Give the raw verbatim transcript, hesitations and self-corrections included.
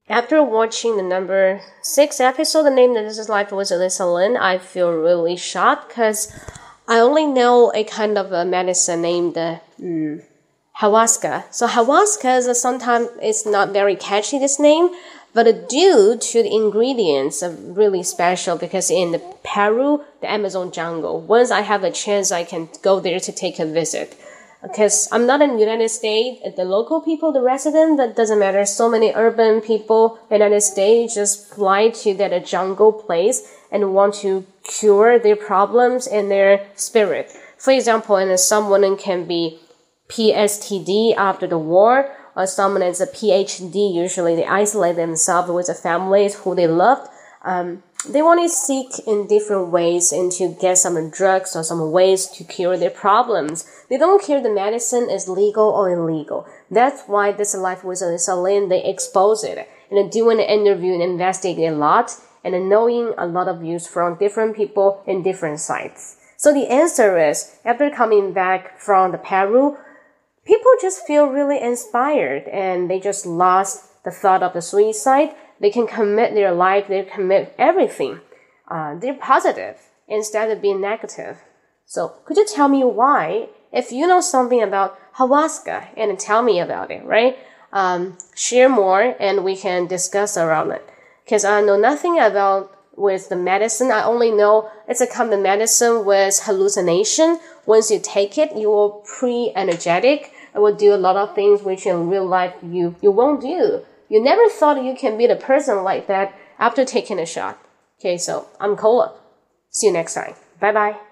after watching the number six episode, the name that This Is Life with Alyssa Lin, I feel really shocked because I only know a kind of a medicine named uh, mm, ayahuasca. So ayahuasca is sometimes it's not very catchy, this name, but due to the ingredients are really special because in the Peru, the Amazon jungle, once I have a chance, I can go there to take a visit. Because I'm not in the United States, the local people, the resident, that doesn't matter. So many urban people in the United States just fly to that jungle place and want to cure their problems and their spirit. For example, and someone can be P S T D after the war, or someone is a P H D. Usually they isolate themselves with the families who they loved. Um, they want to seek in different ways and to get some drugs or some ways to cure their problems. They don't care the medicine is legal or illegal. That's why This Life with Alyssa Lin, they expose it. And doing an interview and investigate a lot and knowing a lot of views from different people in different sites. So the answer is, after coming back from the Peru, people just feel really inspired and they just lost the thought of the suicide. They can commit their life, they commit everything. Uh, they're positive instead of being negative. So could you tell me why? If you know something about ayahuasca, and tell me about it, right? Um, share more and we can discuss around it. Because I know nothing about with the medicine. I only know it's a kind of medicine with hallucination. Once you take it, you will pre-energetic. It will do a lot of things which in real life you, you won't do. You never thought you can meet a person like that after taking a shot. Okay, so I'm Cola. See you next time. Bye-bye.